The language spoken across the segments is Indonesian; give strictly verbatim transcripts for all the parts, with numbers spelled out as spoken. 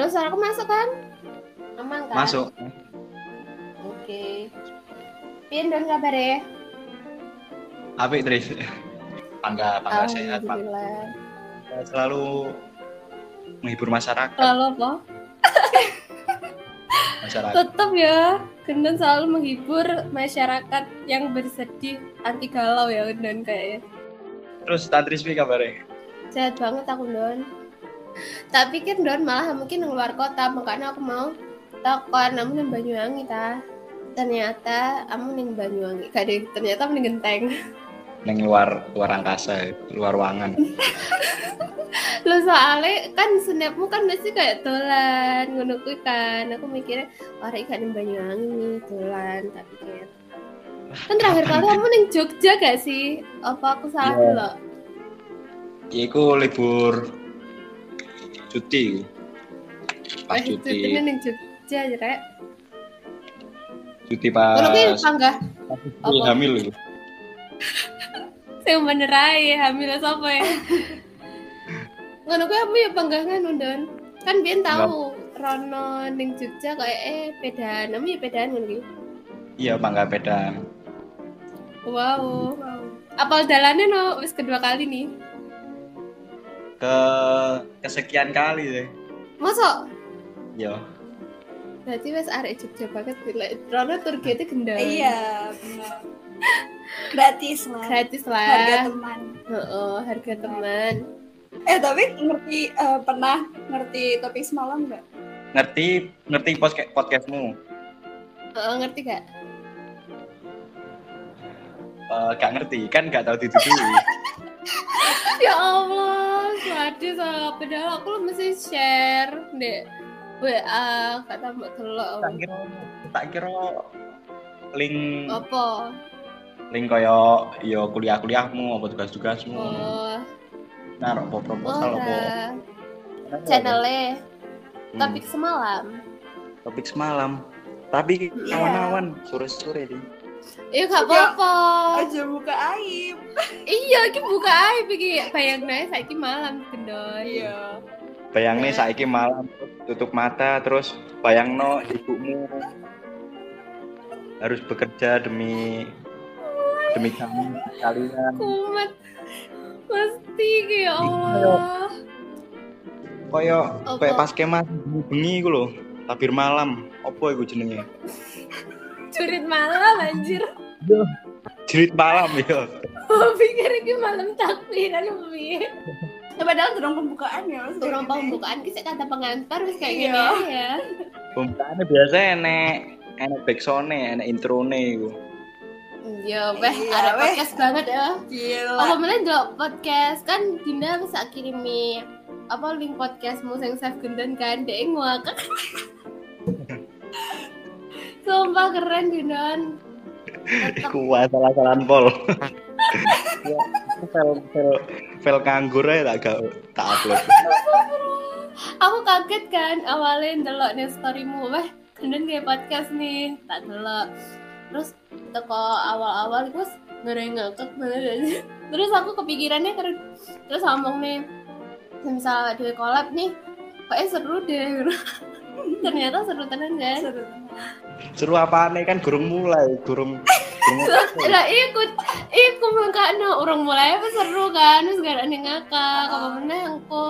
Halo, suaraku masuk kan? Aman kan? Masuk. Oke. Pian don kabare? Apik, Tris. Bangga, bangga sehat, Pak. Alhamdulillah. Selalu menghibur masyarakat. Selalu apa? Masyarakat. Tetap ya, Gendon selalu menghibur masyarakat yang bersedih, anti galau ya Gendon kayaknya. Terus Tantris pi kabare? Sehat banget aku Don. Tak pikir Don malah mungkin di luar kota, makanya aku mau takon namun yang Banyuwangi ta. Ternyata kamu ning Banyuwangi, gak deh, ternyata ning Genteng. Neng luar luar angkasa, luar ruangan. Lo soalnya kan snapmu kan masih kayak dolan ngono kuwi kan. Aku mikirnya wah iki gak ning Banyuwangi nih dolan, tak pikir. Kan terakhir kali kamu ning Jogja gak sih? Apa aku salah Iya. dulu? Iku libur cuti. Pas Eh, cuti. cutinya ning Jogja aja rek. Cuti pas. Kalau kayak panggah Pas hamil itu. saya bener ae hamil sapa ya. Ngono kuwi aku ya panggah ngono Don. Kan biyen tahu Rono ning Jogja kayak eh pedaan, namanya ya pedaan ngono iki. Iya, bangga pedang. Wow. wow. Apal dalannya no wis kedua kali nih. Ke kesekian kali deh. Masuk? Iya. Berarti wis arek Jogja banget bila Rono targetnya gendang. Iya, benar. Gratis lah. Gratis lah. Harga teman. Heeh, harga teman. Eh tapi ngerti uh, pernah ngerti topik semalam nggak? Ngerti ngerti podcast podcastmu? Heeh, ngerti gak? Uh, gak ngerti kan gak tahu dituduhi. Ya Allah, sedih salah padahal aku lu mesti share deh. W A kata mbak telok. Tak kira tak kira link Apa? link koyo yo kuliah-kuliahmu apa tugas-tugasmu. Oh, Naruh apa proposal apa. ora. Channelnya Hmm. topik semalam. Topik semalam. Tapi Iya. awan-awan sore-sore deh. Iya gak apa-apa. Aja buka aib. Iya, iki buka ae iki bayangna saiki malam gendon. Iya. Bayangnya saiki malam tutup mata terus bayangno ibumu harus bekerja demi demi kami kalian. Kumat. Pasti ya Allah. Koyo Apa? koyo pas kemas bengi iku lho, tabir malam. Apa iku jenenge? Curit malam anjir. Jerit malam ya. Oh, pikir iki malam takbiran piye? Ya, padahal durung pembukaan ya. Mas. Durung pembukaan ki sik kata pengantar wis kayak Iya. gini aja ya. Pembukaannya biasa enek enek backsound-e, enek intro-ne iku. Iya, weh, Iya, ada weh. podcast banget ya. Gila. Apa meneh ndelok podcast kan Dinda bisa kirimi apa link podcastmu sing save gendon kan dek ngakak. Sumpah keren Dindon. Tetep Iku salah-salahan pol. Ya, file file file nganggur aja tak gak tak upload. aku kaget kan awalnya ndelok nih storymu, weh gendon kayak podcast nih, tak delok. Terus teko awal-awal gue ngeri ngakak banget aja. Terus aku kepikirannya terus terus ngomong nih, misal di collab nih, kayaknya seru deh. Ternyata seru tenan kan? Seru. Seru apane kan gurung mulai, gurung gurung Lah ikut ikut mengkano orang mulai apa seru kan, terus gak ada nih ngakak, apa meneh engko.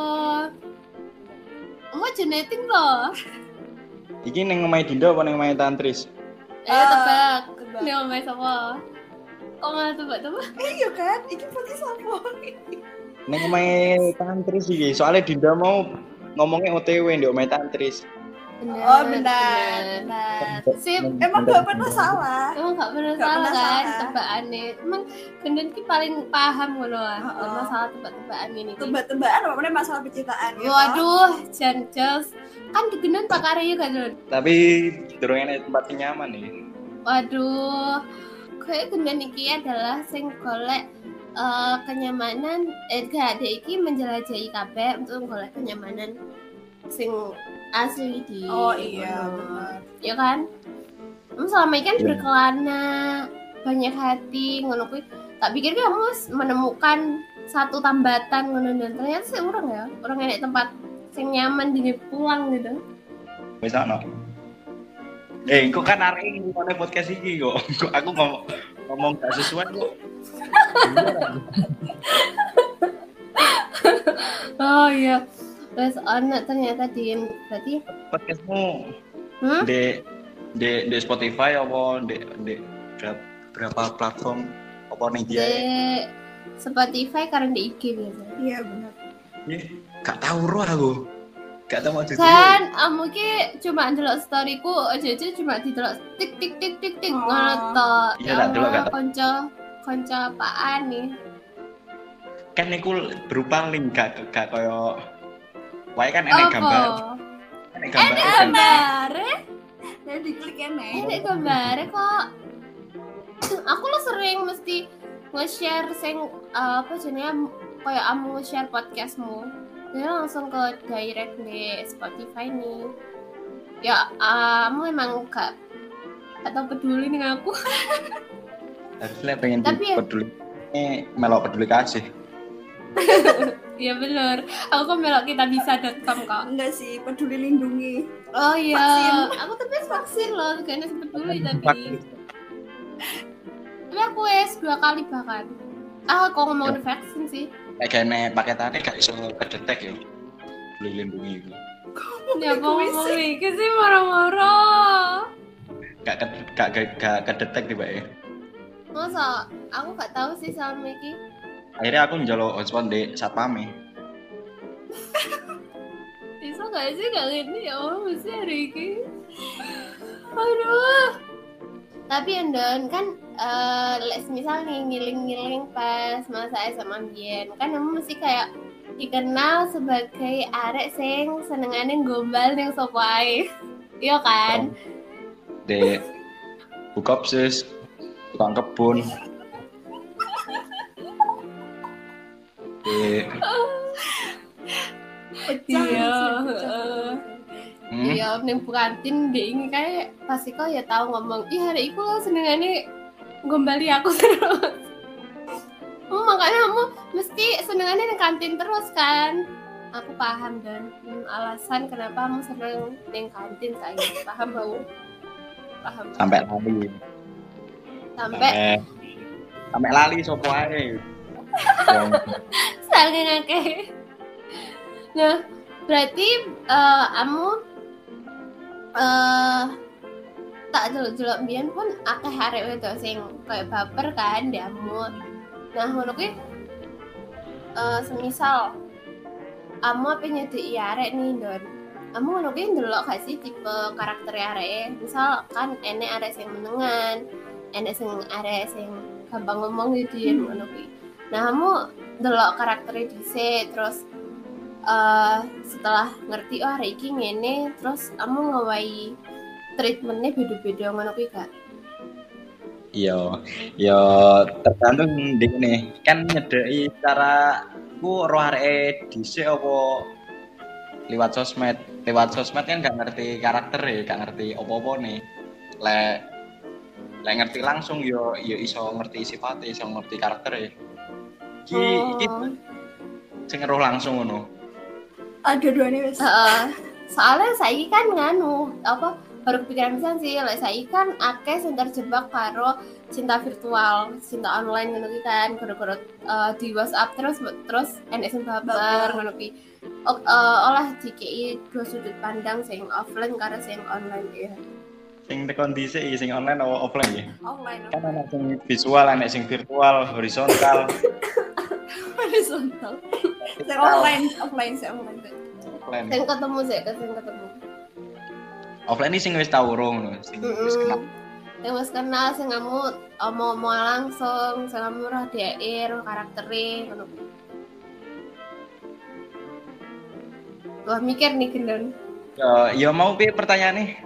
Mau genetik loh. Iki ning omahe Dinda apa ning omahe Tantris? Eh Ah, tebak. tebak. Nih omai sapa? Kok malah tebak-tebak? Eh, iya kan? Iki podcast apa? Ning omahe Tantris iki, soalnya Dinda mau ngomongnya O T W ndek omahe Tantris. Benar. Oh benar, benar. Sip. Emang gak pernah salah. Emang gak pernah Gak salah pernah kan salah. tebakannya. Emang gendon ki paling paham ngono ah. Heeh. Masalah tebak-tebakan ini. Ki. Tebak-tebakan apa namanya masalah pencitraan ya. Waduh, jan jos. Kan gendon pakar ya kan, Don? Tapi durung enek tempat sing nyaman nih. Waduh. Kayak gendon iki adalah sing golek eh, kenyamanan eh gak ada iki menjelajahi kabeh untuk golek kenyamanan sing asli di Oh iya, ngono. benar. Ya kan? Kamu selama ini kan Iya. berkelana, banyak hati, ngono kuwi. Tak pikir kamu menemukan satu tambatan ngono dan ternyata sih orang ya, orang enek tempat sing nyaman di pulang gitu. Wis ana. Eh, kok kan arek iki ngene podcast iki kok. Kok aku ngomong ngomong gak sesuai kok. Oh iya. Terus ana ternyata di berarti Podcastmu hmm? di di di Spotify apa di di berapa platform apa nih dia? Di Spotify karena di I G biasa. Iya benar. Ih, gak tahu roh aku. Gak tahu mau Kan amu ki cuma ndelok storyku aja-aja cuma didelok tik tik tik tik tik Oh. ngono to. Iya, tak delok, gak tahu. Konco konco apaan nih? Kan iku berupa link gak gak koyo wae kan enek gambar. Enek gambar. Enek gambare? Saya diklik ya nih. Enek gambare kok. Aku lo sering mesti nge-share sing uh, apa jenenge kayak amu nge-share podcastmu. Dia langsung ke direct di Spotify nih. Ya, kamu emang gak atau peduli dengan aku. Harusnya pengen Tapi ya- peduli. Ini melok peduli kasih. Iya bener. Aku kan melok kita bisa dot com kok. Enggak sih, peduli lindungi. Oh iya. Vaksin. Aku tapi vaksin loh, kayaknya peduli tapi. Vaksin. Tapi aku wes dua kali bahkan. Ah, kok ngomong udah vaksin sih. Kayak kene paketannya gak iso kedetek ya. Peduli lindungi itu. Ya mau ngomong iki sih marah-marah. Gak ke- gak gak, gak kedetek tiba ya. Masa aku gak tahu sih sama iki. Akhirnya aku njaluk hotspot di satpame. Bisa gak sih gak gini ya Allah mesti hari ini. Aduh. Tapi Andon kan eh les misal nih ngiling-ngiling pas masa S M A mbiyen kan kamu mesti kayak dikenal sebagai arek sing senengane gombal ning sapa ae. Iya kan? Di Bukopsis, tukang kebun. Di Pecah. Iya, pecah. heeh. hmm, Iya, ning kantin dia ini kayak pasti kok ya tahu ngomong, "Ih, hari iku lo senengane gombali aku terus." Oh, makanya kamu mesti senengane ning kantin terus kan? Aku paham dan hmm, alasan kenapa kamu seneng ning kantin saya paham aku. Paham. sampai lali. Sampai Sampai sampai lali sopo ae. Wong saking akeh. Nah, berarti eh, kamu eh tak delok-delok mbiyen pun akeh arek wedok sing kayak baper kan diamu. Nah, ngono kuwi eh semisal kamu apa nyedeki arek nih, Don. Kamu ngono kuwi ndelok gak sih tipe karakter areke? Misal kan enek arek sing menengan, enek sing arek sing gampang ngomong gitu ya ngono kuwi. Nah, kamu ndelok karakternya dhisik terus eh setelah ngerti oh hari iki ngene terus kamu ngawahi treatmentnya beda-beda ngono kuwi gak? Iya, ya tergantung di ini. Kan nyedeki cara ku roh areke dhisik apa lewat sosmed. Lewat sosmed kan gak ngerti karakter ya, gak ngerti apa-apa nih. Lek lek ngerti langsung yo yo iso ngerti sifatnya, iso ngerti karakter ya. Iki iki Oh. sing roh langsung ngono. Ada dua nih wes. Heeh. Soalnya saiki kan nganu apa baru kepikiran pisan sih lek saiki kan akeh sing terjebak karo cinta virtual, cinta online ngono ki kan gara-gara eh, di WhatsApp terus terus enek sing baper ngono ki. O- eh, olah dikei dua sudut pandang sing offline karo sing online ya. Sing tekon dhisik iki sing online apa offline ya? Online. Kan ana sing visual, ana sing virtual, horizontal. Horizontal. Saya offline, offline, saya offline. Offline. Sing ketemu sih, sing ketemu. Offline ini sing wis tau ro ngono, sing wis kenal. Yang wis kenal sing kamu omong-omong langsung, sing kamu roh dhek, roh karaktere ngono. Wah, mikir nih Gendon. Ya, ya mau piye pertanyaane?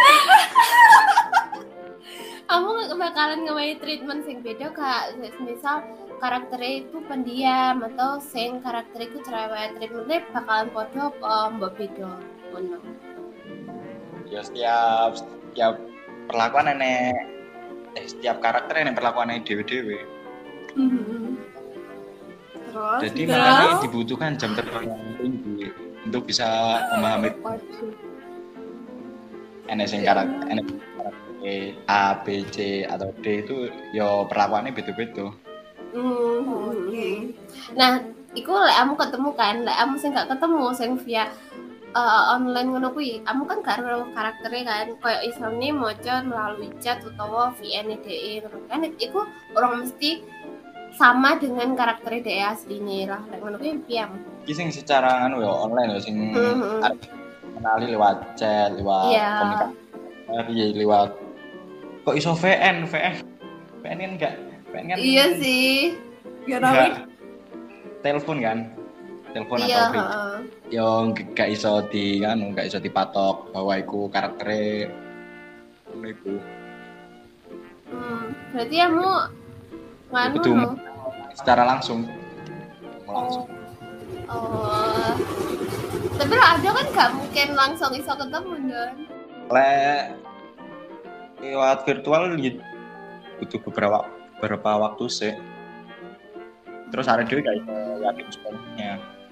Kamu nggak bakalan ngewahi treatment sing beda kak. Misal karakternya itu pendiam atau sing karakternya itu cerewet, treatmentnya bakalan podo apa mbak beda ngono. Ya setiap setiap perlakuan enek eh, setiap karakter enek perlakuane dhewe-dhewe. Terus, Jadi terus? makanya dibutuhkan jam terbang yang tinggi. untuk bisa memahami Waduh. enek sing karakter enek karakter A, B, C atau D itu yo perlakuannya beda-beda. Hmm, Oke. Nah, iku lek kamu ketemu kan, lek kamu sing gak ketemu sing via uh, online ngono kuwi, kamu kan gak ero karakternya kan, koyo isane maca melalui chat utawa V N D E ngono kan, iku orang mesti sama dengan karakternya D E asline lah. Lek ngono kuwi piye? Iki sing secara anu yo online yo sing Hmm. arep kenali lewat chat, lewat Iya. komunikasi, lewat kok iso V N, V N. V N kan enggak, V N kan Iya sih. Ya enggak Rawi. telepon kan. Telepon Iya, atau video. heeh. Yo gak iso di kan, gak iso dipatok bahwa iku karaktere ngono iku. Hmm, berarti kamu nganu Kudu no? secara langsung. Langsung. Oh. Tapi lah ada kan gak mungkin langsung iso ketemu Don. Lek lewat virtual gitu butuh beberapa beberapa waktu sih. Terus ada dhewe gak iso yakin sepenuhnya.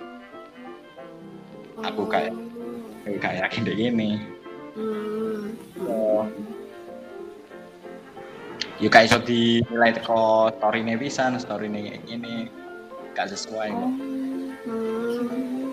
Aku kayak gak yakin deh gini. Hmm. Oh. Ya gak iso dinilai teko story-ne pisan, story-ne kayak gini. Gak sesuai kok. Hmm.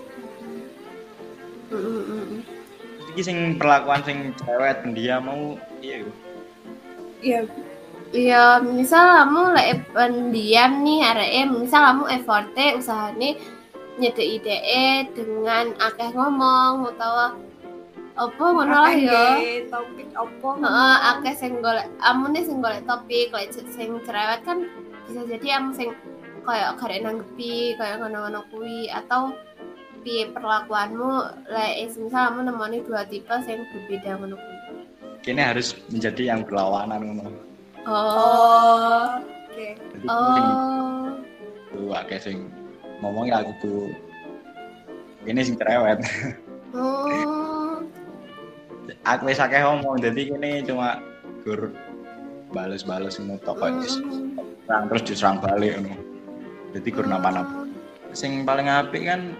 Hmm. Hmm. Terus iki sing perlakuan sing cewek pendiam mau iya yo. Iya. Iya, misal kamu lek pendiam nih, areke misal kamu effortnya usahane nyedeki dheke dengan akeh ngomong utawa apa ngono lah ya. Akeh topik apa? Heeh, akeh sing golek, amune sing golek topik, lek sing cerewet kan bisa jadi kamu sing kayak karek nanggepi, kayak ngono-ngono kuwi atau piye perlakuanmu lek misal kamu nemoni dua tipe sing berbeda ngono kuwi. Kini harus menjadi yang berlawanan ngono. Oh. Oh. Oke. Jadi Oh. sing akeh sing ngomong ya aku tuh ini sing cerewet. Oh. Aku wis akeh ngomong jadi kini cuma gur bales-bales ngono tok kok serang terus diserang balik ngono. Jadi gur napa-napa. Sing paling apik kan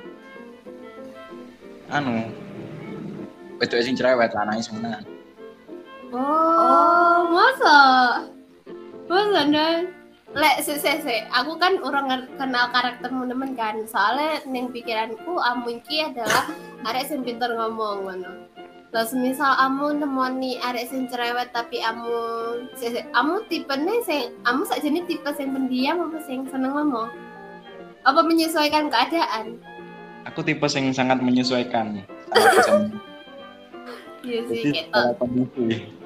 anu wedok sing cerewet lanange seneng. Oh, masa? Masa dan lek sih sih sih, aku kan orang kenal karaktermu nemen kan, soalnya neng pikiranku amu iki adalah arek sing pinter ngomong ngono. Lah semisal amu nemoni arek sing cerewet tapi amu sih sih, amu tipene sing amu sakjane tipe sing pendiam apa sing seneng ngomong? Apa menyesuaikan keadaan? Aku tipe sing sangat menyesuaikan. Sangat bisa Iya sih jadi gitu. secara kondisi.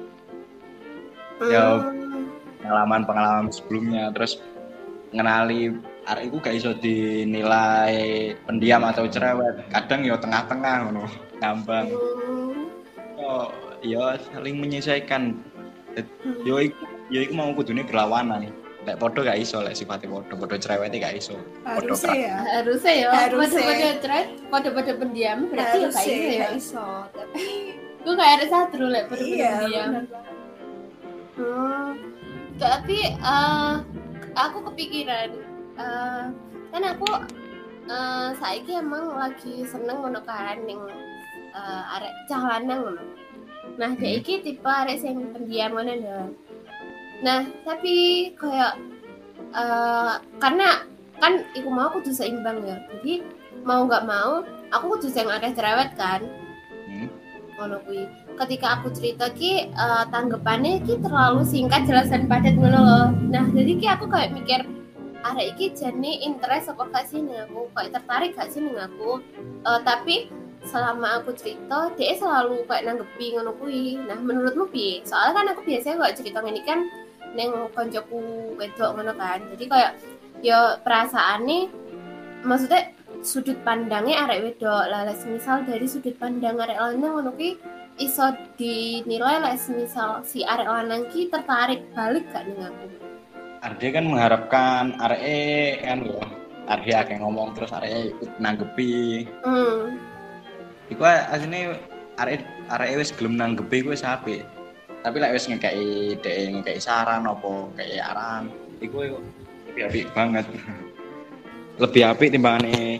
Ya pengalaman-pengalaman sebelumnya terus ngenali arek iku gak iso dinilai pendiam atau cerewet. Kadang ya tengah-tengah ngono, ngambang. Oh, ya saling menyesuaikan. Yo iku yo iku mau kudune berlawanan. Lek padha gak iso, lek sifate padha, padha cerewete gak iso. Harusnya ya. Harusnya ya, Harusnya. pada-pada cerewet, pada-pada pendiam berarti ya kayak Harusnya gitu ya. gak iso. Tapi Gue kayak ada satu lek pada-pada iya. pendiam. bener banget. Hmm, tapi eh, aku kepikiran, eh, kan aku eh, saiki emang lagi seneng ngono kan ning eh, arek cah lanang ngono. Nah, Hmm. dek iki tipe arek sing pendiam ngono lho. Nah, tapi kayak eh, karena kan iku mau kudu seimbang ya. Jadi mau nggak mau aku kudu sing akeh cerewet kan. Hmm. Ngono kuwi. Ketika aku cerita ki uh, tanggapannya ki terlalu singkat jelas dan padat ngono loh. Nah, jadi ki aku kayak mikir arek iki jane interest apa gak sih ning aku, kayak tertarik gak sih ning aku. Uh, tapi selama aku cerita, dia selalu kayak nanggepi ngono kuwi. Nah, menurutmu piye? Soalnya kan aku biasanya kok cerita ngene kan ning koncoku wedok ngono kan. Jadi kayak ya perasaane maksudnya sudut pandangnya arek wedok lah, misal dari sudut pandang arek lanang ngono ki iso dinilai lah, misal si arek lanang ki tertarik balik gak ning aku. Arde kan mengharapkan arek kan lho, Arde akeh ngomong terus arek ikut nanggepi. Hmm. Iku asline arek arek wis gelem nanggepi kuwi wis apik. Tapi lek wis ngekeki dhek ngekeki saran apa kayak arahan, iku lebih apik banget. Lebih apik timbangane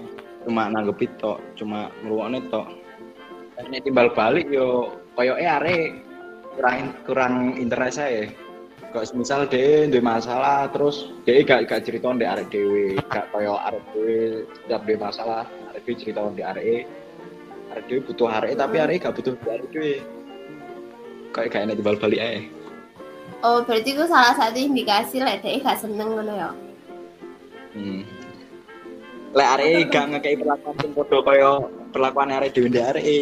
cuma nanggepin tok, cuma ngrungokne tok. Nek timbal balik yo koyoke arek kurang kurang interest ae. Kok misal dhewe duwe masalah terus dhewe gak gak cerita ndek arek dhewe, gak koyo arek dhewe setiap duwe masalah, arek dhewe cerita ndek areke. Arek dhewe butuh areke tapi areke gak butuh arek dhewe. Kayak gak enak timbal balik ae. Oh, berarti itu salah satu indikasi lek dhek gak seneng ngono ya. Hmm. Lek areke gak ngekei perlakuan sing padha kaya perlakuan arek dhewe ndek areke.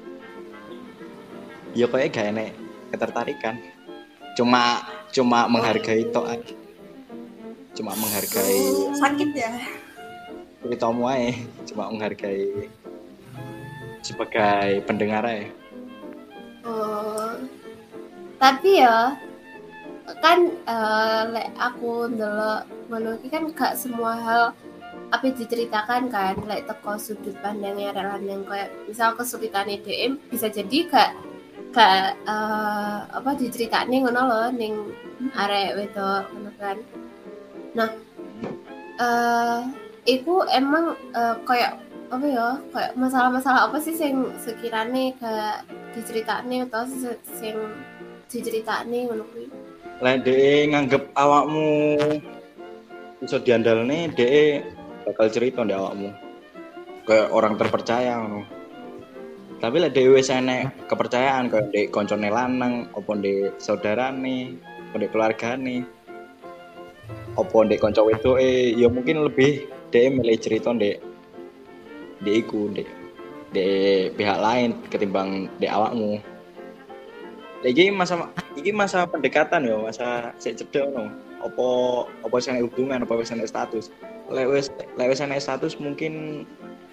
Ya koyo gak enak ketertarikan. Cuma cuma menghargai tok aja. Cuma menghargai Sakit ya. ceritamu aja, cuma menghargai sebagai pendengar aja. Oh. Tapi ya kan uh, lek aku ndelok ngono iki kan gak semua hal apa diceritakan kan lek teko sudut pandangnya arek lanang kayak misal kesulitane D M bisa jadi gak gak uh, apa diceritane ngono lho ning arek wedok ngono kan. Nah, eh uh, iku emang uh, kayak apa ya kayak masalah-masalah apa sih sing sekirane gak diceritane atau sing diceritane ngono kuwi. Lek dhek nganggep awakmu iso diandalne, dhek bakal cerita ndek awakmu. Kayak orang terpercaya ngono. Tapi lek dhek wis enek kepercayaan kayak ndek koncone lanang, apa ndek saudarane, apa ndek keluargane, apa ndek kanca wedoke, ya mungkin lebih dhek milih cerita ndek ndek iku, ndek ndek pihak lain ketimbang ndek awakmu. Iki masa iki masa pendekatan ya, masa sik cedhek ngono. Apa apa wis enek hubungan, apa wis enek status. Lek wis lek wis enek status mungkin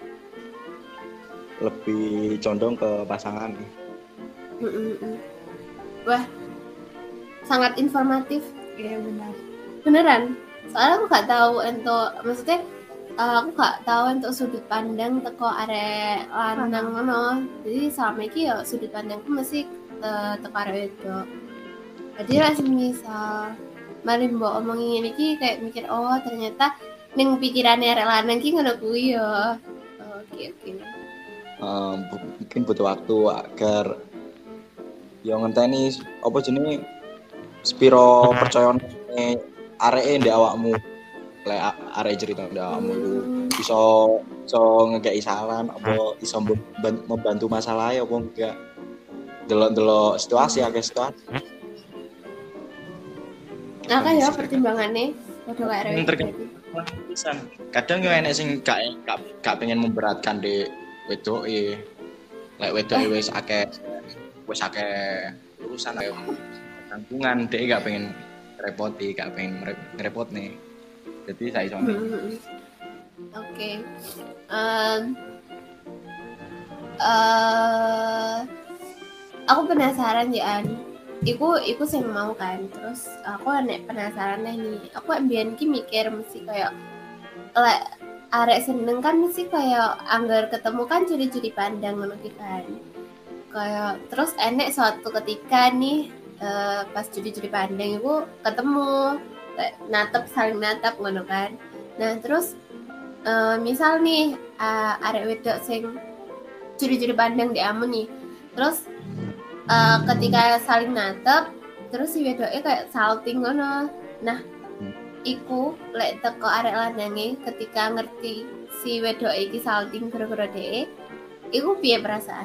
lebih condong ke pasangan. Mm-mm. Wah, sangat informatif. Iya benar. Beneran. Soalnya aku gak tahu untuk maksudnya uh, aku gak tahu untuk sudut pandang teko arek lanang ngono. Jadi selama iki ya sudut pandangku mesti uh, teko arek wedok. Jadi lah misal mari mbok omongin ini ki kayak mikir oh ternyata ning pikirane arek lanang ki ngono kuwi ya. Oke oke. Um, mungkin butuh waktu agar yang ngenteni apa jenenge spiro percayane areke ndek awakmu. Lek arek cerita ndek awakmu iku iso iso ngekeki saran apa iso membantu masalah apa enggak. Delok-delok situasi akeh situasi. Nah kan ya pertimbangannya padha karo arek pisan. Kadang yo enek sing gak gak, gak pengen memberatkan ndek wedoke. Lek wedoke wis akeh wis akeh urusan ayo tanggungan dhek gak pengen repoti, gak pengen ngerepotne. Jadi saya iso. Oke. Um uh, aku penasaran ya An. Iku iku sing mau kan. Terus aku nek penasaran nih. Aku ambian ki mikir mesti kayak lek arek seneng kan mesti kayak anggar ketemu kan curi-curi pandang ngono ki kan. Kayak terus enek suatu ketika nih uh, pas curi-curi pandang itu ketemu natap saling natap ngono kan. Nah terus uh, misal nih uh, arek wedok sing curi-curi pandang di amun nih. Terus uh, ketika saling natap terus si wedoknya kayak salting ngono. Nah iku lek teko arek lanange ketika ngerti si wedok iki salting gara-gara dhek iku piye perasaan?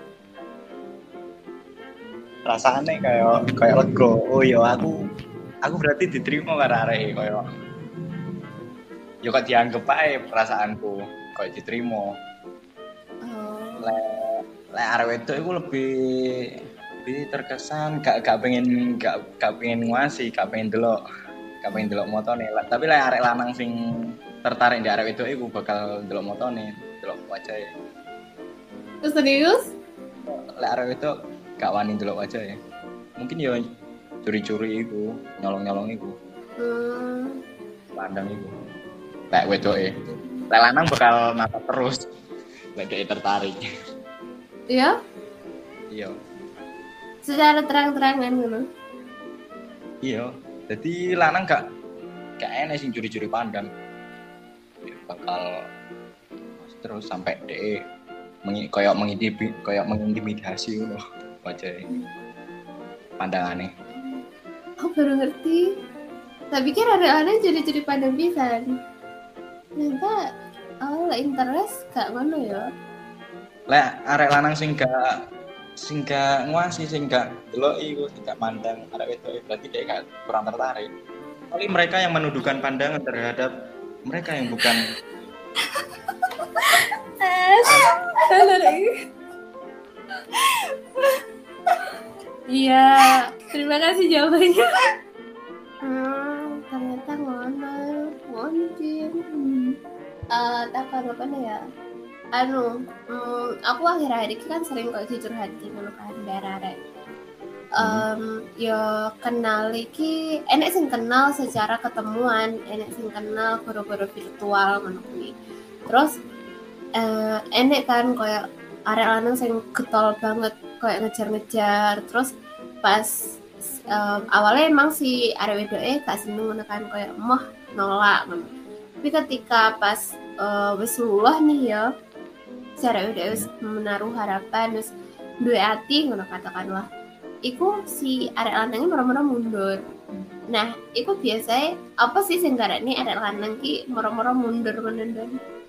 Rasane kayak kayak lega. Oh ya aku aku berarti diterima karo arek kayak yo kok dianggep ae perasaanku kayak diterima. Oh. Lek lek arek wedok iku lebih lebih terkesan gak gak pengen gak gak pengen nguasi, gak pengen delok. Gak pengen delok motone. Tapi lek arek lanang sing tertarik ndek arek wedok iku bakal delok motone, delok wajahe. Terus serius? Lek arek wedok gak wani delok wajahe. Mungkin yo curi-curi iku, nyolong-nyolong iku. Hmm. Pandang iku. Lek wedoke. Lek lanang bakal natap terus. Lek dhek tertarik. Iya? Iya. Secara terang-terangan ngono. Iya. Jadi lanang gak gak enek sing curi-curi pandang. Ya, bakal terus sampai de mengi koyok mengintimi koyok mengintimidasi ngono wajahe pandangannya. Aku baru ngerti. Tak pikir ada-ada jadi-jadi pandang pisan. Ternyata awal interest gak ngono ya. Lek arek lanang sing gak sing gak nguasi sing gak deloki iku sing gak mandang arek wedok berarti dia gak kurang tertarik. Kali mereka yang menuduhkan pandangan terhadap mereka yang bukan Iya, terima kasih jawabannya. Hmm, ternyata ngono, ngono Jin. Hmm. Uh, tak apa ya. Anu, hmm, aku akhir-akhir ini kan sering kok dicurhati ngono kan darah-darah. Um, yo kenal iki enek sing kenal secara ketemuan, enek sing kenal goro-goro virtual ngono kuwi. Terus uh, enek kan koyo arek lanang sing getol banget koyo ngejar-ngejar. Terus pas um, awalnya emang si arek wedoke gak seneng ngono kan koyo moh nolak ngono. Tapi ketika pas uh, wis luluh nih ya, si arek wedoke wis menaruh harapan wis duwe ati ngono katakanlah. Iku si arek lanangnya moro-moro mundur. Nah, iku biasanya apa sih sing garane arek lanang ki moro-moro mundur menenun?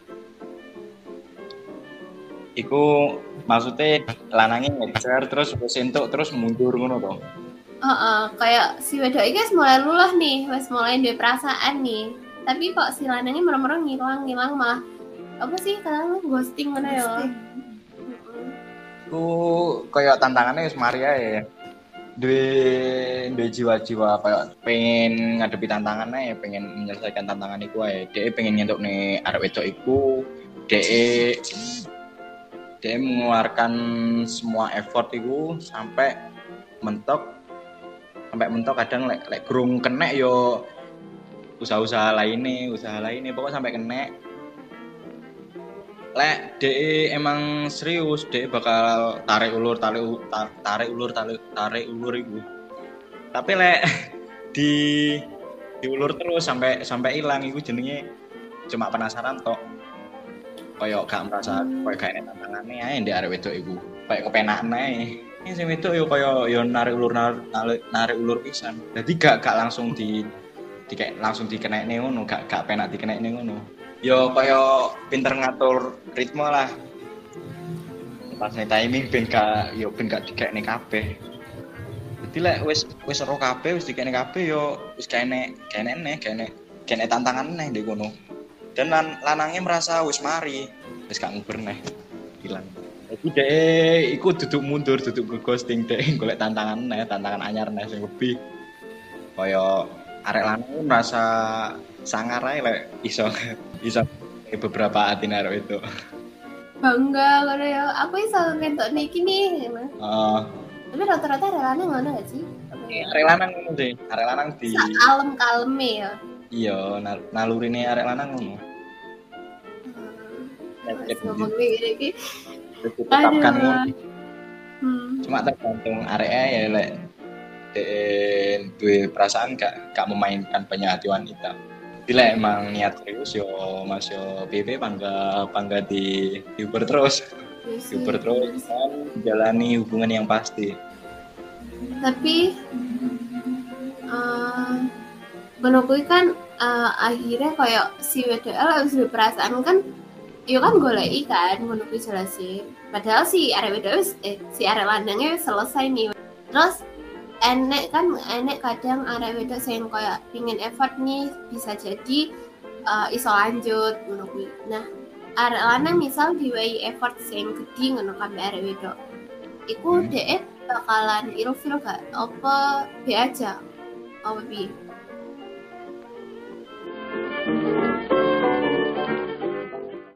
Iku maksudnya lanangnya ngejar terus wis entuk terus mundur ngono to. Heeh, kayak si wedok iki wis mulai luluh nih, wis mulai duwe perasaan nih. Tapi kok si lanangnya moro-moro ngilang-ngilang malah apa sih kadang ghosting ngono ya. Iku kayak tantangannya wis mari ae ya. Duwe duwe jiwa-jiwa kayak pengen ngadepi tantangannya ya, pengen menyelesaikan tantangan iku ae. Dhek pengen nyentukne arek wedok iku, dhek dhek mengeluarkan semua effort iku sampai mentok sampai mentok kadang lek lek grung kenek yo usaha-usaha lainnya, usaha lainnya pokoknya sampai kenek. Lek de emang serius de bakal tarik ulur tarik tarik ulur tarik tarik ulur iku. Tapi lek di diulur terus sampai sampai hilang iku jenenge cuma penasaran tok. Kayak gak merasa kayak gak enak tantangane ae ndek arek wedok iku. Kayak kepenakan ae. Ini sing wedok yo kaya yo narik ulur narik, narik ulur pisan. Dadi gak gak langsung di di kayak langsung dikenekne ngono, gak gak penak dikenekne ngono. Yo kaya pinter ngatur ritme lah. Pas timing ben gak yo ben gak dikekne kabeh. Dadi lek wis wis ero kabeh wis dikekne kabeh yo wis kene kene neh kene kene tantangan neh ndek kono. Dan lan, lanangnya merasa wis mari wis gak nguber neh hilang. Jadi dhek iku duduk mundur, duduk ghosting dhek golek tantangan neh, tantangan anyar neh sing lebih. Kaya arek lanang merasa sangar ae lek iso iso beberapa atine arek itu. Bangga ngono ya. Aku iso ngentok niki nih. Heeh. Uh, Tapi rata-rata arek lanang ngono gak sih? Arek lanang ngono sih. Arek lanang di kalem-kaleme ya. Iya, nal- nalurine arek lanang ngono. Hmm. Ngomong iki. Tetapkan ngono. Hmm. Cuma tergantung areke ya lek den duwe perasaan gak gak memainkan banyak hati wanita. Bila emang niat serius yo Mas yo P P bangga bangga di diuber terus. Diuber terus kan jalani hubungan yang pasti. Tapi uh, ngono kuwi kan uh, akhirnya kayak si W D L harus berperasaan kan yo kan goleki kan ngono kuwi jelasin. Padahal si arek wedok eh si arek lanangnya selesai nih. Terus enek kan enek kadang arek wedok sing kayak pingin effort nih bisa jadi uh, iso lanjut ngono kuwi. Nah, arek lanang misal diwehi effort sing gedhi ngono kan arek wedok. Iku dhek bakalan ilfil gak apa be aja. Apa piye?